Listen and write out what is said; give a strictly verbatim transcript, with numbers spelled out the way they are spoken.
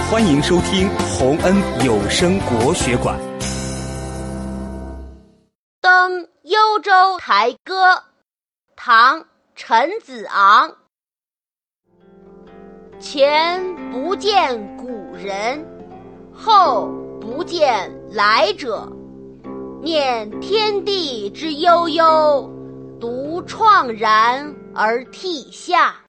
欢迎收听洪恩有声国学馆。 登幽州台歌，唐·陈子昂。前不见古人，后不见来者。念天地之悠悠，独怆然而涕下。